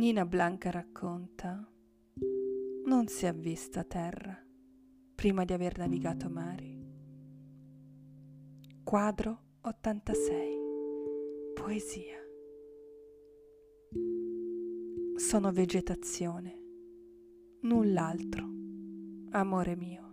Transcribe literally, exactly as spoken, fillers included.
Nina Blanca racconta: non si è vista terra prima di aver navigato mari. Quadro ottantasei. Poesia. Sono vegetazione, null'altro, amore mio.